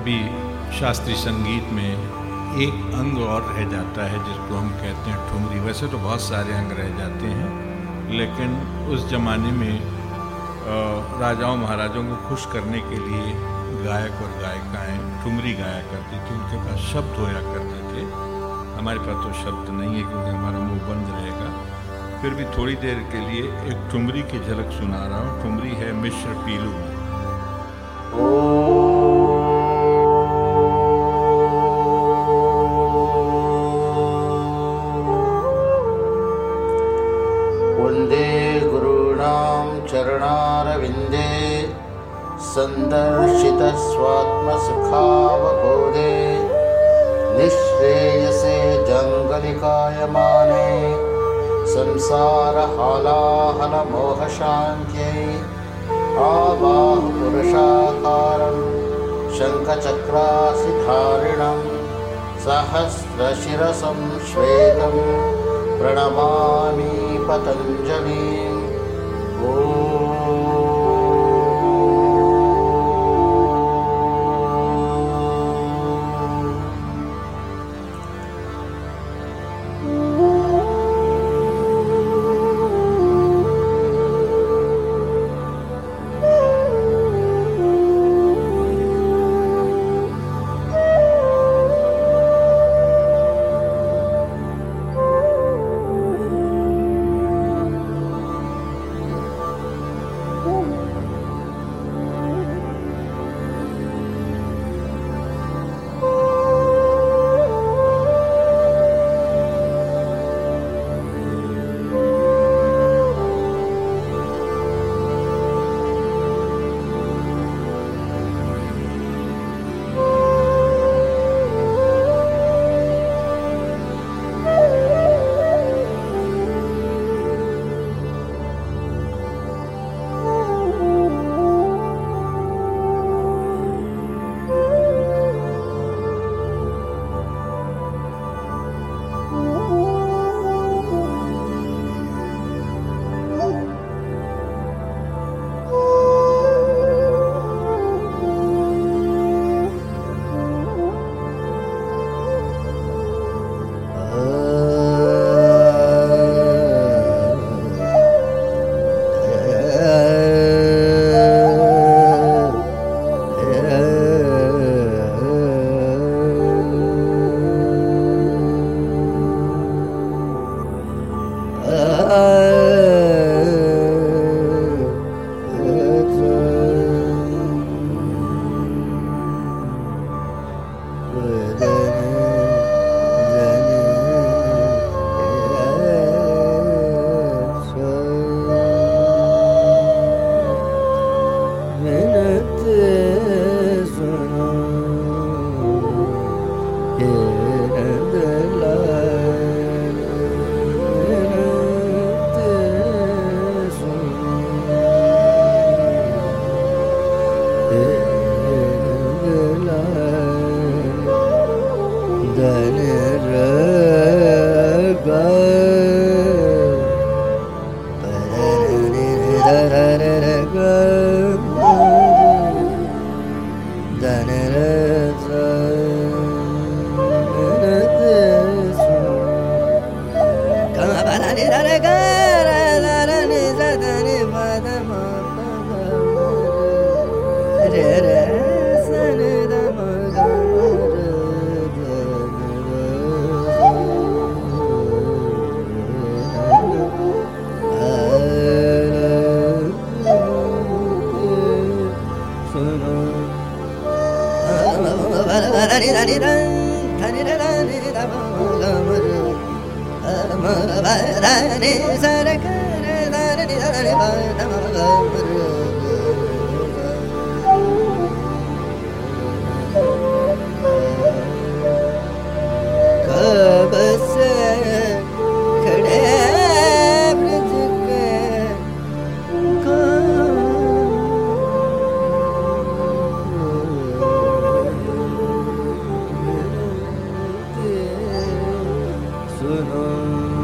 कभी शास्त्रीय संगीत में एक अंग और रह जाता है जिसको हम कहते हैं ठुमरी। वैसे तो बहुत सारे अंग रह जाते हैं, लेकिन उस ज़माने में राजाओं महाराजाओं को खुश करने के लिए गायक और गायिकाएँ ठुमरी गाया करती थी। उनके पास शब्द होया करते थे। हमारे पास तो शब्द नहीं है क्योंकि हमारा मुंह बंद रहेगा। फिर भी थोड़ी देर के लिए एक ठुमरी की झलक सुना रहा हूँ। ठुमरी है मिश्र पीलू में। वन्दे गुरूणां चरणारविन्दे सन्दर्शितस्वात्मसुखावबोधे निःश्रेयसे जङ्गलिकायमाने संसारहालाहलमोहशान्त्यै आबाहुपुरुषाकारं शङ्खचक्रासिधारिणं सहस्रशिरसं श्वेतं प्रणमामि पतञ्जलिम्। सुनो